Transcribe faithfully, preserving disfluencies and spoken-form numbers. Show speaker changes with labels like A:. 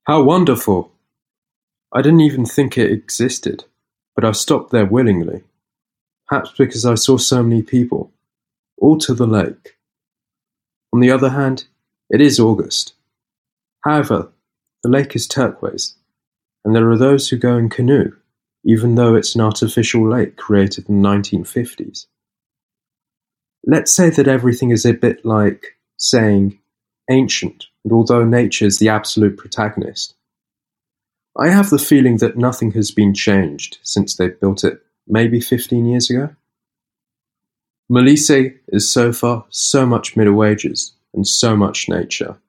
A: How wonderful! I didn't even think it existed, but I stopped there willingly, perhaps because I saw so many people, all to the lake. On the other hand, it is August. However, the lake is turquoise, and there are those who go in canoe, even though it's an artificial lake created in the nineteen fifties. Let's say that everything is a bit like saying ancient, and although nature is the absolute protagonist. I have the feeling that nothing has been changed since they built it maybe fifteen years ago. Molise is so far so much Middle Ages and so much nature.